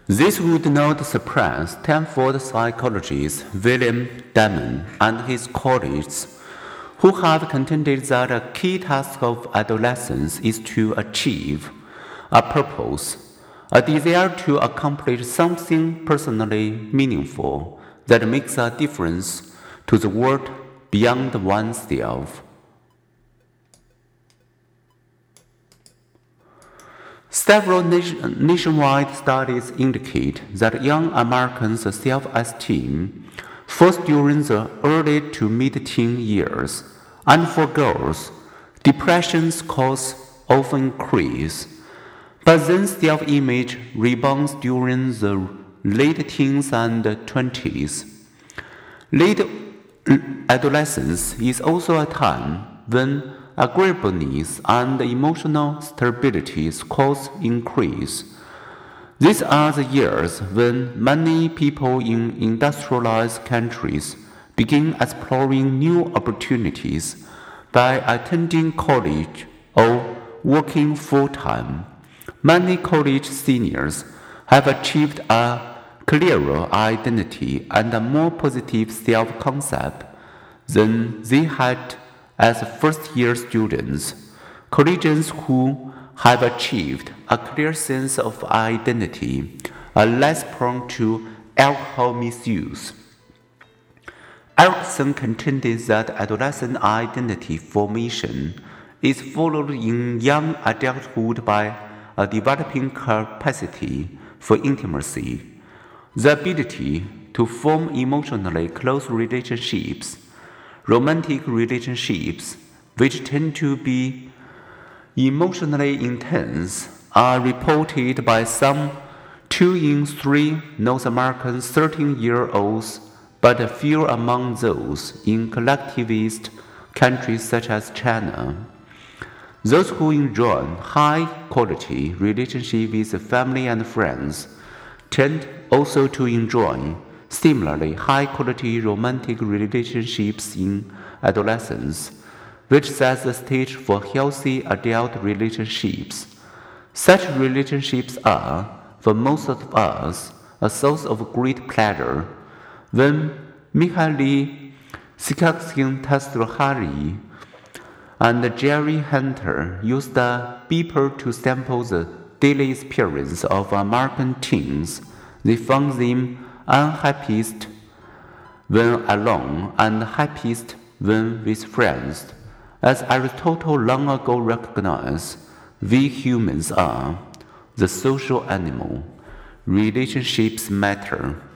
This would not surprise Stanford psychologist William Diamond and his colleagues, who have contended that a key task of adolescence is to achieve a purpose, a desire to accomplish something personally meaningful that makes a difference to the world beyond oneself. Several nationwide studies indicate that young Americans' self-esteem falls during the early to mid-teen years, and for girls, depression scores often increase, but then self-image rebounds during the late teens and 20s. Late adolescence is also a time when agreeableness and emotional stability scores increase. These are the years when many people in industrialized countries begin exploring new opportunities by attending college or working full-time. Many college seniors have achieved a clearer identity and a more positive self-concept than they had as first-year students. Collegians who have achieved a clear sense of identity are less prone to alcohol misuse. Erickson contended that adolescent identity formation is followed in young adulthood by a developing capacity for intimacy, the ability to form emotionally close relationships. Romantic relationships, which tend to be emotionally intense, are reported by some 2 in 3 North American 13-year-olds, but fewer among those in collectivist countries such as China. Those who enjoy high-quality relationships with family and friends tend also to enjoy similarly high-quality romantic relationships in adolescence, which sets the stage for healthy adult relationships. Such relationships are, for most of us, a source of great pleasure. When Mihaly Csikszentmihalyi and Jerry Hunter used a beeper to sample the daily experience of American teens, they found them unhappiest when alone and happiest when with friends. As Aristotle long ago recognized, we humans are the social animal. Relationships matter.